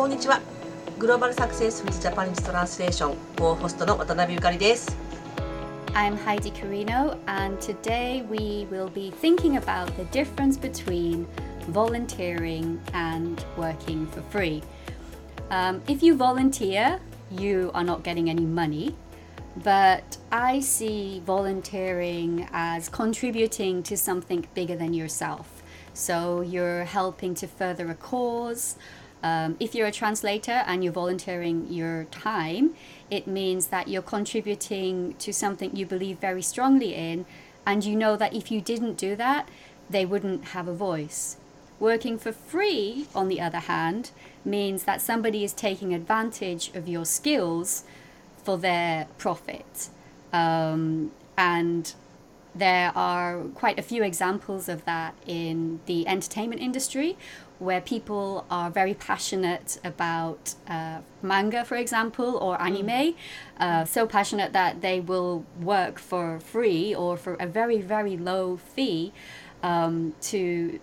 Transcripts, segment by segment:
こんにちは。グローバルサクセス with Japanese Translation ホストの渡辺ゆかりです。 I'm Heidi Carino, and today we will be thinking about the difference between volunteering and working for free. If you volunteer, you are not getting any money, but I see volunteering as contributing to something bigger than yourself. So you're helping to further a cause. If you're a translator and you're volunteering your time, it means that you're contributing to something you believe very strongly in, and you know that if you didn't do that, they wouldn't have a voice. Working for free, on the other hand, means that somebody is taking advantage of your skills for their profit. And there are quite a few examples of that in the entertainment industry, where people are very passionate about manga, for example, or anime, so passionate that they will work for free or for a very, very low fee to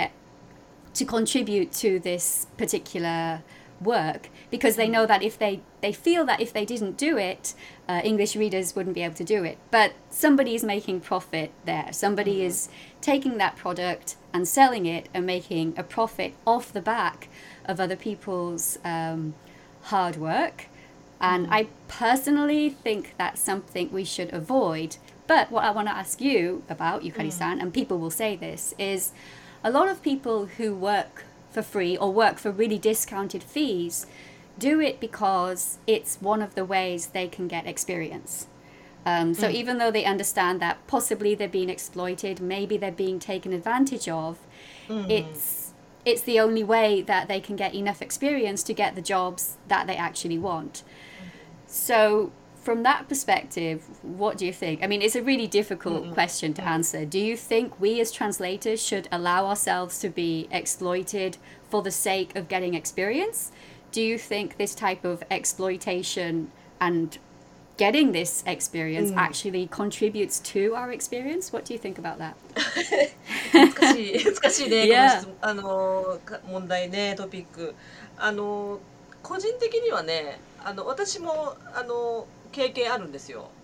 contribute to this particular work, because they know that if they feel that if they didn't do it, English readers wouldn't be able to do it. But somebody is making profit there. Somebody is taking that product and selling it and making a profit off the back of other people's hard work. And I personally think that's something we should avoid. But what I want to ask you about, Yukari-san, and people will say this, is a lot of people who work for free or work for really discounted fees do it because it's one of the ways they can get experience. So even though they understand that possibly they're being exploited, maybe they're being taken advantage of, it's the only way that they can get enough experience to get the jobs that they actually want. So from that perspective, what do you think? I mean, it's a really difficult question to answer. Do you think we as translators should allow ourselves to be exploited for the sake of getting experience? Do you think this type of exploitation and getting this experience actually contributes to our experience? What do you think about that? 難しいね、 Yeah. この問題ね、トピック。個人的にはね、私も経験あるんですよ。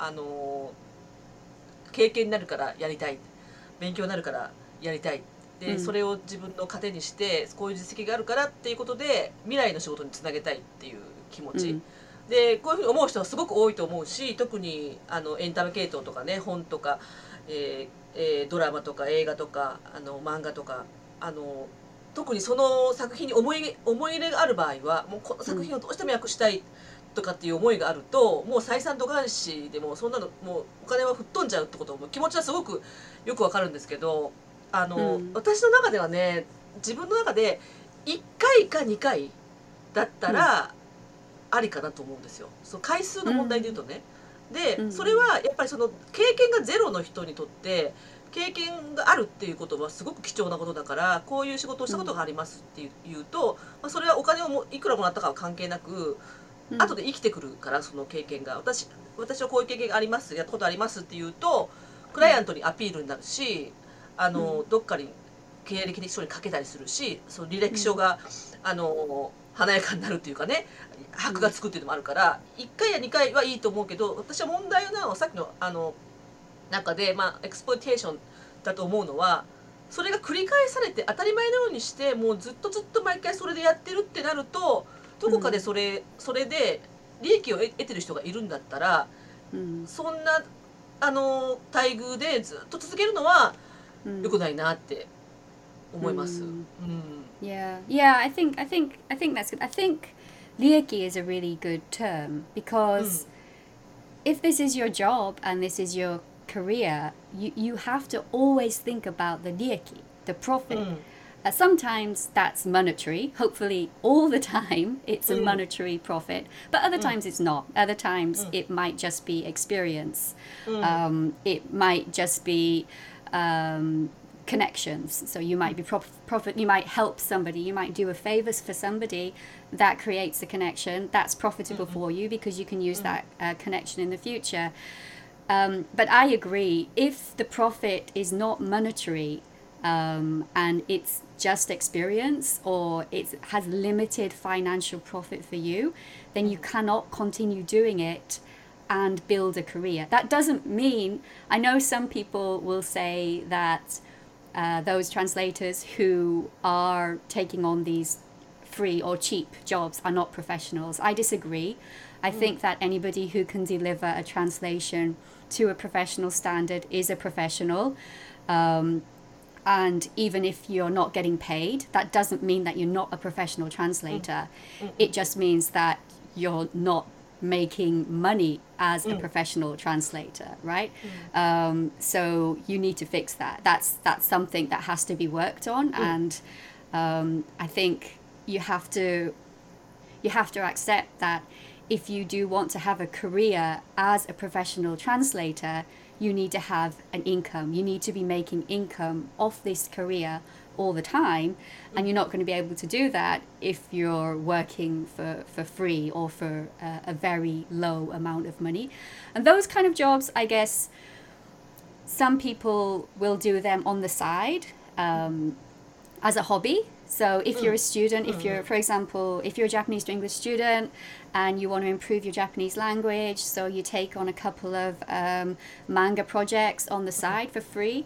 経験になるからやりたい、勉強になるからやりたいで、それを自分の糧にしてこういう実績があるからっていうことで未来の仕事につなげたいっていう気持ち、でこういうふうに思う人はすごく多いと思うし、特にエンタメ系統とかね、本とか、ドラマとか映画とか漫画とか特にその作品に思い入れがある場合は、もうこの作品をどうしても訳したいとかっていう思いがあると、もう採算度外視でもそんなのもうお金は吹っ飛んじゃうってことも気持ちはすごくよくわかるんですけど、私の中ではね、自分の中で1回か2回だったらありかなと思うんですよ。その回数の問題で言うとね。でそれはやっぱりその経験がゼロの人にとって経験があるっていうことはすごく貴重なことだから、こういう仕事をしたことがありますっていうと、それはお金をいくらもらったかは関係なく、後で生きてくるから、その経験が私はこういう経験があります、やったことありますっていうとクライアントにアピールになるし、どっかに経歴書に書けたりするし、その履歴書が華やかになるっていうかね、箔がつくっていうのもあるから、1回や2回はいいと思うけど、私は問題なのはさっきの中で、エクスプロイテーションだと思うのは、それが繰り返されて当たり前のようにして、もうずっと毎回それでやってるってなると、どこかでそれで利益を得てる人がいるんだったら、そんな待遇でずっと続けるのは良くないなって思います。 Yeah, I think that's good. I think lieki is a really good term, because if this is your job and this is your career, you have to always think about the lieki, the profit. Sometimes that's monetary. Hopefully all the time it's a monetary profit, but other times it's not. Other times it might just be experience. It might just be connections. So you might be you might help somebody, you might do a favor for somebody, that creates a connection that's profitable for you because you can use that connection in the future. But I agree, if the profit is not monetary, and it's just experience or it has limited financial profit for you, then you cannot continue doing it and build a career. That doesn't mean, I know some people will say that those translators who are taking on these free or cheap jobs are not professionals. I disagree. I think that anybody who can deliver a translation to a professional standard is a professional. And even if you're not getting paid, that doesn't mean that you're not a professional translator. It just means that you're not making money as a professional translator, right? So you need to fix that. That's something that has to be worked on, and I think you have to accept that if you do want to have a career as a professional translator, you need to have an income. You need to be making income off this career all the time, and you're not going to be able to do that if you're working for free or for a very low amount of money. And those kind of jobs, I guess, some people will do them on the side as a hobby. So if you're a student, if you're, for example, if you're a Japanese to English student and you want to improve your Japanese language, so you take on a couple of manga projects on the side for free,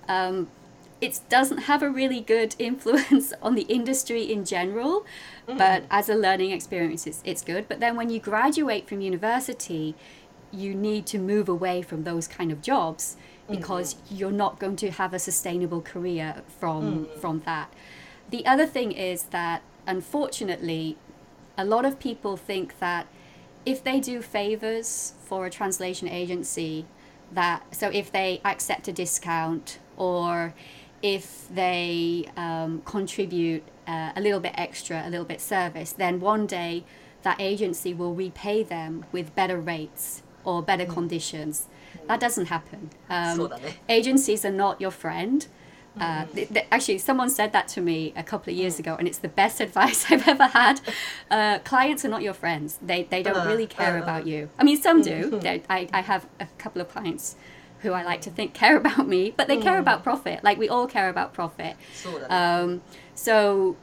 it doesn't have a really good influence on the industry in general, but as a learning experience, it's good. But then when you graduate from university, you need to move away from those kind of jobs because you're not going to have a sustainable career from that. The other thing is that, unfortunately, a lot of people think that if they do favors for a translation agency, so if they accept a discount or if they contribute a little bit extra, a little bit service, then one day that agency will repay them with better rates or better conditions. That doesn't happen. Agencies are not your friend. Actually, someone said that to me a couple of years ago, and it's the best advice I've ever had. Clients are not your friends. They don't really care about you. I mean, some do. I have a couple of clients who I like to think care about me, but they care about profit. Like, we all care about profit. So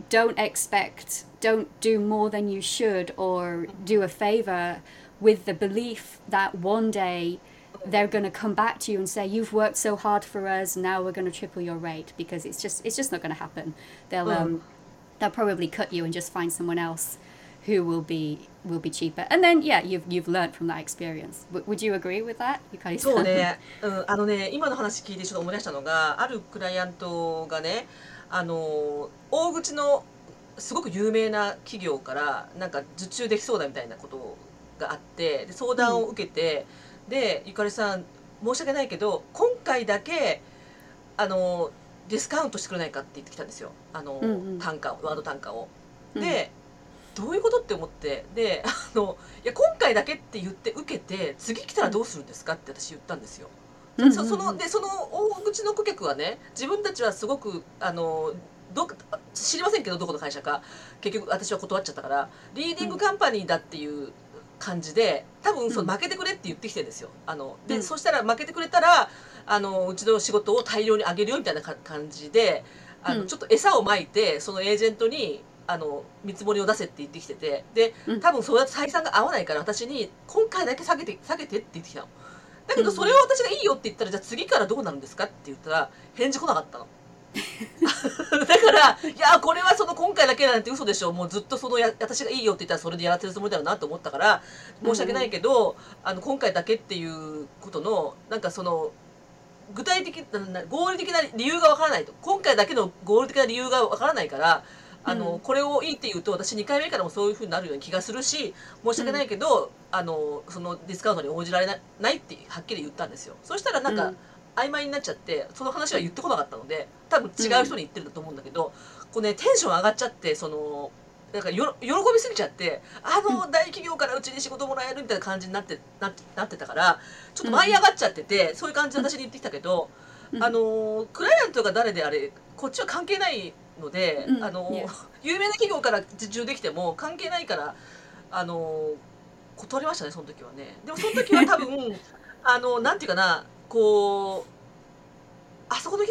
don't do more than you should or do a favor with the belief that one day they're going to come back to you and say, you've worked so hard for us, now we're going to triple your rate, because it's just not going to happen. They'll probably cut you and just find someone else who will be cheaper. And then you've learned from that experience. Would you agree with that? そうね、今の話聞いてちょっと思い出したのが、あるクライアントがね、大口のすごく有名な企業からなんか受注できそうだみたいなことがあって、で相談を受けて、でゆかりさん申し訳ないけど今回だけディスカウントしてくれないかって言ってきたんですよ、単価ワード単価を。で、どういうことって思って、でいや今回だけって言って受けて次来たらどうするんですかって私言ったんですよ。その大口の顧客はね、自分たちはすごく知りませんけどどこの会社か、結局私は断っちゃったからリーディングカンパニーだっていう感じで、多分負けてくれって言ってきてるんですよ。でそしたら負けてくれたらうちの仕事を大量にあげるよみたいな感じでちょっと餌をまいて、そのエージェントに見積もりを出せって言ってきてて、で多分そうやって採算が合わないから私に今回だけ下げてって言ってきたの。だけどそれを私がいいよって言ったら、じゃあ次からどうなるんですかって言ったら返事来なかったの。だからいやこれは今回だけなんて嘘でしょ、もうずっと私がいいよって言ったらそれでやらせるつもりだよなと思ったから申し訳ないけど、今回だけっていうことのなんか具体的合理的な理由がわからないと、今回だけの合理的な理由がわからないから、これをいいって言うと私2回目からもそういう風になるような気がするし、申し訳ないけど、そのディスカウントに応じられないってはっきり言ったんですよ。そしたらなんか、曖昧になっちゃって、その話は言ってこなかったので多分違う人に言ってるんだと思うんだけど、こうねテンション上がっちゃって、なんか喜びすぎちゃって、大企業からうちに仕事もらえるみたいな感じになってたから、ちょっと舞い上がっちゃってて、そういう感じで私に言ってきたけど、クライアントが誰であれこっちは関係ないので、有名な企業から受注できても関係ないから断りましたね、その時はね。でもその時は多分なんていうかな、こうあそこの企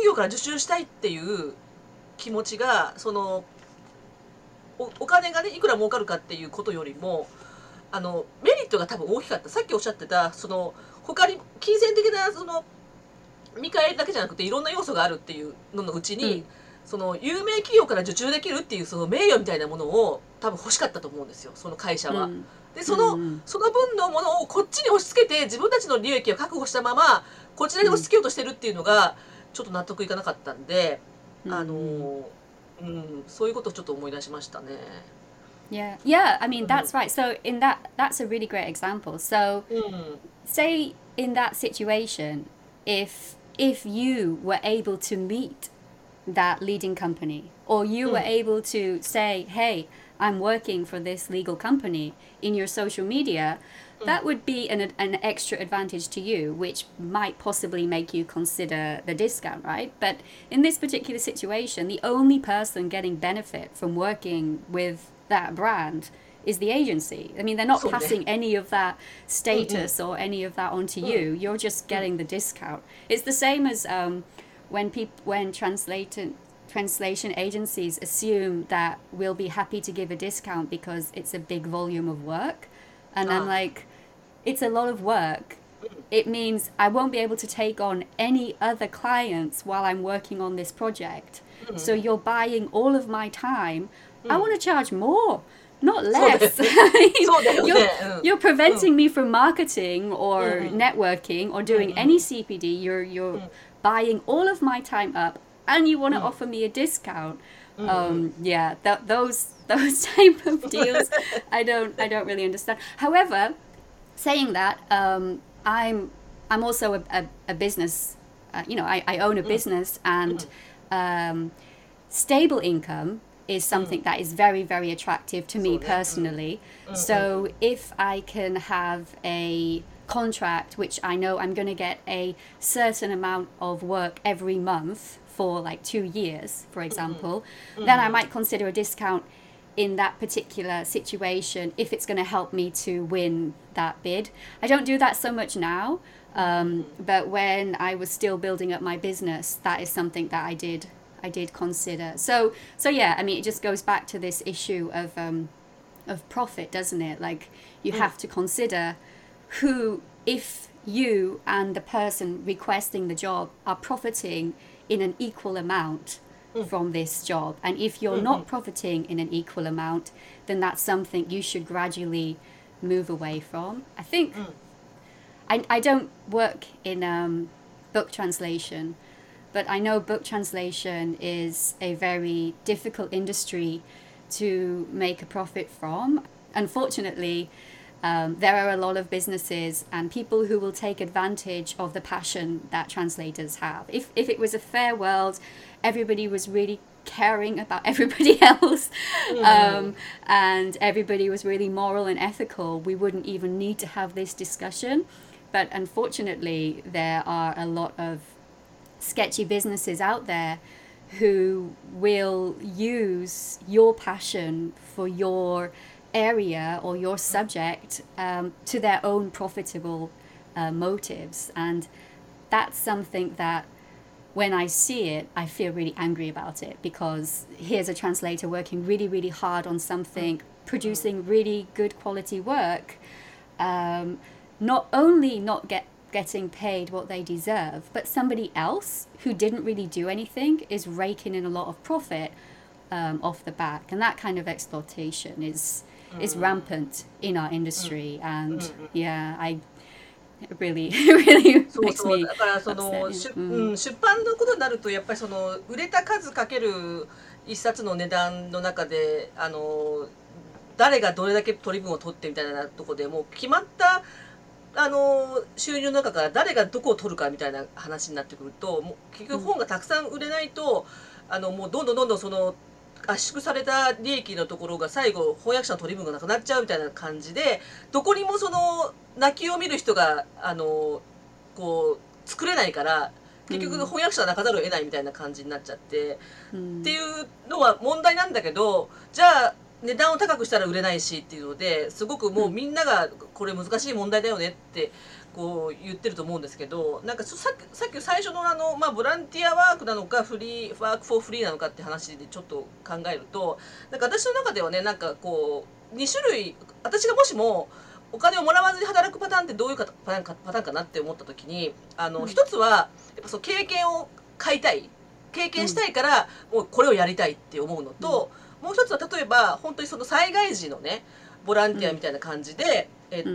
企業から受注したいっていう気持ちがそのお金がねいくら儲かるかっていうことよりもメリットが多分大きかった。さっきおっしゃってたその他に金銭的なその見返りだけじゃなくていろんな要素があるっていうののうちに、その有名企業から受注できるっていうその名誉みたいなものを多分欲しかったと思うんですよ、その会社は。でその分のものをこっちに押し付けて自分たちの利益を確保したままこちらに押し付けようとしてるっていうのがちょっと納得いかなかったんで、そういうことをちょっと思い出しましたね。 Yeah, yeah. I mean, that's right. So in that's a really great example. So say in that situation, if you were able to meet that leading company, or you were able to say, hey, I'm working for this legal company in your social media, that would be an extra advantage to you, which might possibly make you consider the discount, right? But in this particular situation, the only person getting benefit from working with that brand is the agency. I mean, they're not passing any of that status or any of that onto you. You're just getting the discount. It's the same as when translation agencies assume that we'll be happy to give a discount because it's a big volume of work. And I'm like, it's a lot of work. It means I won't be able to take on any other clients while I'm working on this project. So you're buying all of my time. I want to charge more, not less. You're preventing me from marketing or networking or doing any CPD. You're buying all of my time up, and you want to offer me a discount. Yeah, those type of deals, I don't really understand. However, saying that, I'm also a business. I own a business, and stable income is something that is very, very attractive to me personally. So if I can have a contract which I know I'm going to get a certain amount of work every month for like 2 years, for example, then I might consider a discount in that particular situation if it's going to help me to win that bid. I don't do that so much now, but when I was still building up my business, that is something that I did consider. So yeah, I mean, it just goes back to this issue of profit, doesn't it? Like, you have to consider who, if you and the person requesting the job are profiting in an equal amount from this job, and if you're not profiting in an equal amount, then that's something you should gradually move away from. I think I don't work in book translation, but I know book translation is a very difficult industry to make a profit from. Unfortunately, there are a lot of businesses and people who will take advantage of the passion that translators have. If it was a fair world, everybody was really caring about everybody else, and everybody was really moral and ethical, we wouldn't even need to have this discussion. But unfortunately, there are a lot of sketchy businesses out there who will use your passion for your area or your subject to their own profitable motives, and that's something that when I see it, I feel really angry about it, because here's a translator working really, really hard on something, producing really good quality work, not only not getting paid what they deserve, but somebody else who didn't really do anything is raking in a lot of profit off the back. And that kind of exploitation is rampant in our industry. And yeah, it really makes me だからその出版のことになると、やっぱりその売れた数かける一冊の値段の中で誰がどれだけ取り分を取ってみたいなところでもう決まった収入の中から誰がどこを取るかみたいな話になってくると、もう結局本がたくさん売れないと、もうどんどんその圧縮された利益のところが最後翻訳者の取り分がなくなっちゃうみたいな感じで、どこにもその泣きを見る人がこう作れないから、結局翻訳者は泣かざるを得ないみたいな感じになっちゃって、っていうのは問題なんだけど、じゃあ値段を高くしたら売れないしっていうので、すごくもうみんながこれ難しい問題だよねってこう言ってると思うんですけど、なんかさっき最初のまあ、ボランティアワークなのかワークフォーフリーなのかって話でちょっと考えると、なんか私の中ではね、なんかこう2種類、私がもしもお金をもらわずに働くパターンってどういうパターンかなって思った時に、一つはやっぱその経験を買いたい、経験したいからもうこれをやりたいって思うのと、もう一つは例えば本当にその災害時のねボランティアみたいな感じで、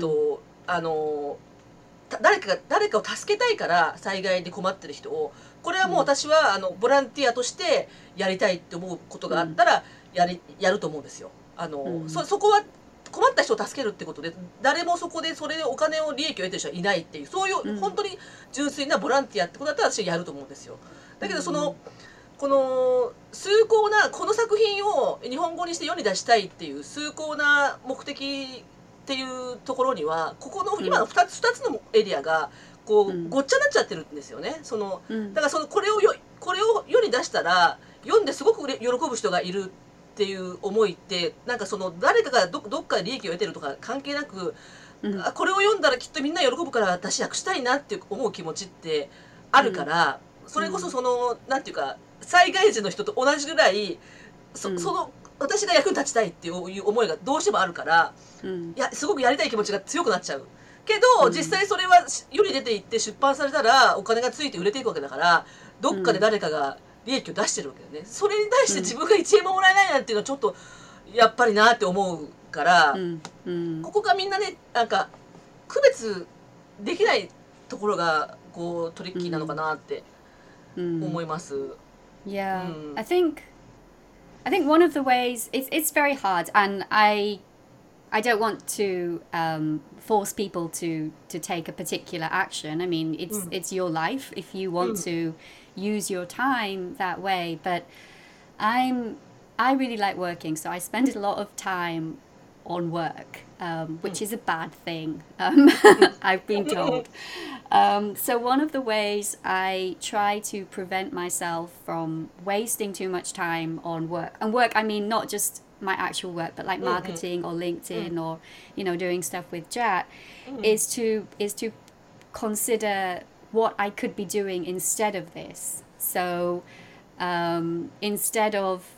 誰かを助けたいから災害で困ってる人を、これはもう私はボランティアとしてやりたいって思うことがあったらやると思うんですよ。そこは困った人を助けるってことで、誰もそこでそれでお金を利益を得てる人はいないっていう、そういう本当に純粋なボランティアってことだったら私はやると思うんですよ。だけどこの崇高なこの作品を日本語にして世に出したいっていう崇高な目的っていうところには、ここの今の2つのエリアがこうごっちゃになっちゃってるんですよね。だからこれを世に出したら読んですごく喜ぶ人がいるっていう思いって、なんか誰かがどっかで利益を得てるとか関係なく、これを読んだらきっとみんな喜ぶから私訳したいなって思う気持ちってあるから、それこそなんていうか災害時の人と同じぐらい私が役に立ちたいっていう思いがどうしてもあるから、すごくやりたい気持ちが強くなっちゃうけど、実際それは世に出ていって出版されたらお金がついて売れていくわけだから、どっかで誰かが利益を出してるわけだよね。それに対して自分が1円ももらえないなんていうのはちょっとやっぱりなって思うから、ここがみんなね、なんか区別できないところがこうトリッキーなのかなって思います。 Yeah, I think one of the ways it's very hard, and I don't want to force people to take a particular action. I mean, it's your life if you want to use your time that way. But I really like working, so I spend a lot of time on work, which is a bad thing. I've been told. So one of the ways I try to prevent myself from wasting too much time on work, and work I mean not just my actual work, but like marketing or LinkedIn or doing stuff with Jat, is to consider what I could be doing instead of this. So instead of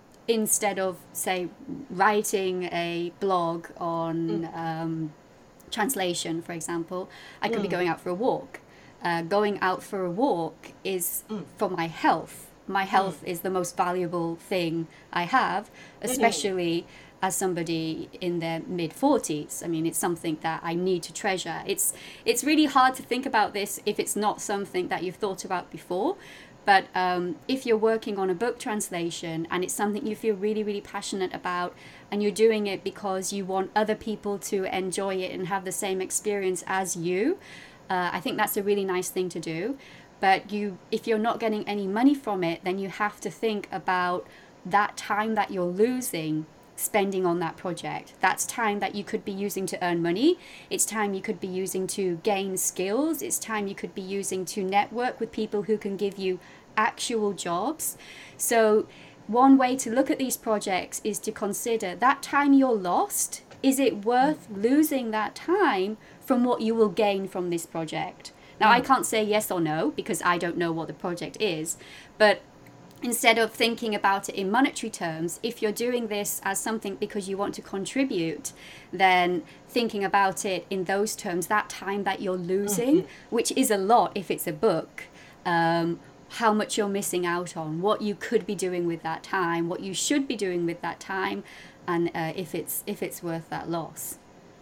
say writing a blog on translation, for example, I could be going out for a walk. Going out for a walk is for my health. My health is the most valuable thing I have, especially as somebody in their mid-40s. I mean, it's something that I need to treasure. It's really hard to think about this if it's not something that you've thought about before. But if you're working on a book translation and it's something you feel really, really passionate about, and you're doing it because you want other people to enjoy it and have the same experience as you, I think that's a really nice thing to do. But if you're not getting any money from it, then you have to think about that time that you're losing spending on that project. That's time that you could be using to earn money. It's time you could be using to gain skills. It's time you could be using to network with people who can give you actual jobs. So one way to look at these projects is to consider that time you're lost. Is it worth losing that time from what you will gain from this project? Now, I can't say yes or no because I don't know what the project is, but instead of thinking about it in monetary terms, if you're doing this as something because you want to contribute, then thinking about it in those terms, that time that you're losing, which is a lot if it's a book, how much you're missing out on, what you could be doing with that time, what you should be doing with that time, and if it's worth that loss.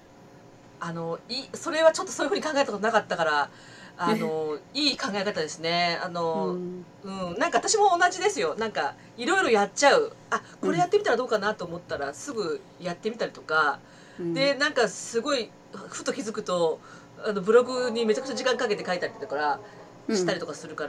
それはちょっとそういうふうに考えたことなかったから、いい考え方ですね。なんか私も同じですよ。なんかいろいろやっちゃう。これやってみたらどうかなと思ったらすぐやってみたりとか、でなんかすごいふと気づくとブログにめちゃくちゃ時間かけて書いたりとかしたりとかするから、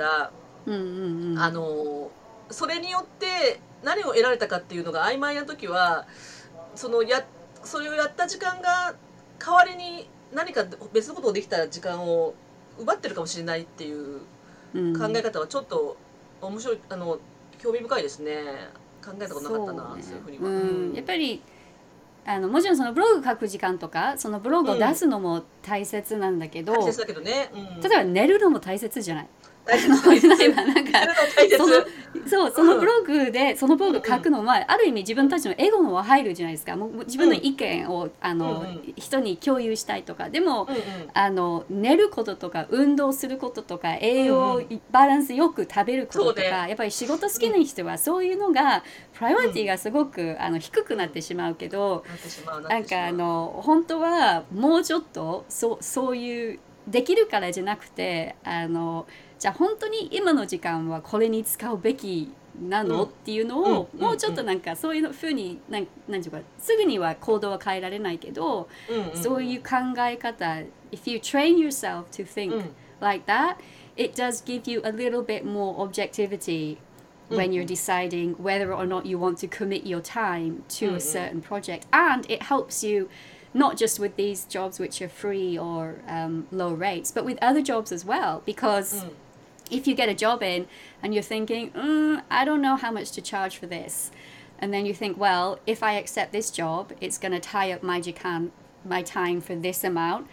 それによって何を得られたかっていうのが曖昧な時は、それをやった時間が代わりに何か別のことをできた時間を奪ってるかもしれないっていう考え方はちょっと面白い、興味深いですね。考えたことなかったな、そういうふうには。 やっぱりもちろんそのブログ書く時間とかそのブログを出すのも大切なんだけど、 大切だけどね、 例えば寝るのも大切じゃない。 大切大切なんか大切そのブログでそのブログ書くのはある意味自分たちのエゴのは入るじゃないですか。もう自分の意見を人に共有したいとかでも、寝ることとか運動することとか栄養バランスよく食べることとか、やっぱり仕事好きな人はそういうのがプライオリティがすごく低くなってしまうけど、なんか本当はもうちょっとそういうできるからじゃなくてじゃあ本当に今の時間はこれに使うべきなの、っていうのをもうちょっとなんかそういうふうになんていうかすぐには行動は変えられないけど、そういう考え方 if you train yourself to think like that, it does give you a little bit more objectivity when you're deciding whether or not you want to commit your time to a certain project, and it helps you not just with these jobs which are free or low rates, but with other jobs as well, because if you get a job in and you're thinking, I don't know how much to charge for this, and then you think, well, if I accept this job, it's going to tie up my time for this amount,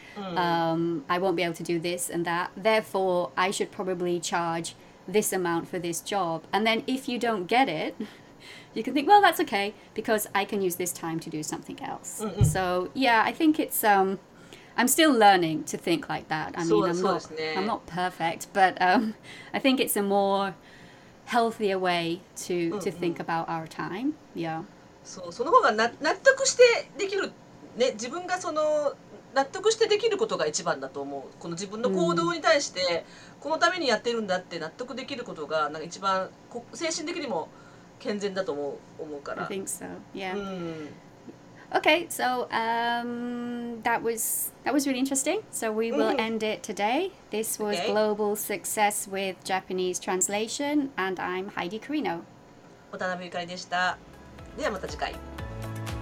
I won't be able to do this and that, therefore I should probably charge this amount for this job. And then if you don't get it, you can think, well, that's okay because I can use this time to do something else. So yeah, I think it's I'm still learning to think like that. I mean, I'm not perfect, but I think it's a more healthier way to think about our time. Yeah. その方が納得してできるね、自分が納得してできることが一番だと思う。この自分の行動に対して、このためにやってるんだって納得できることがなんか一番精神的にも健全だと思うから。 I think so. Yeah. Okay, so that was really interesting. So we will end it today. This was Global Success with Japanese Translation, and I'm Heidi Carino. 渡辺ゆかりでした。ではまた次回。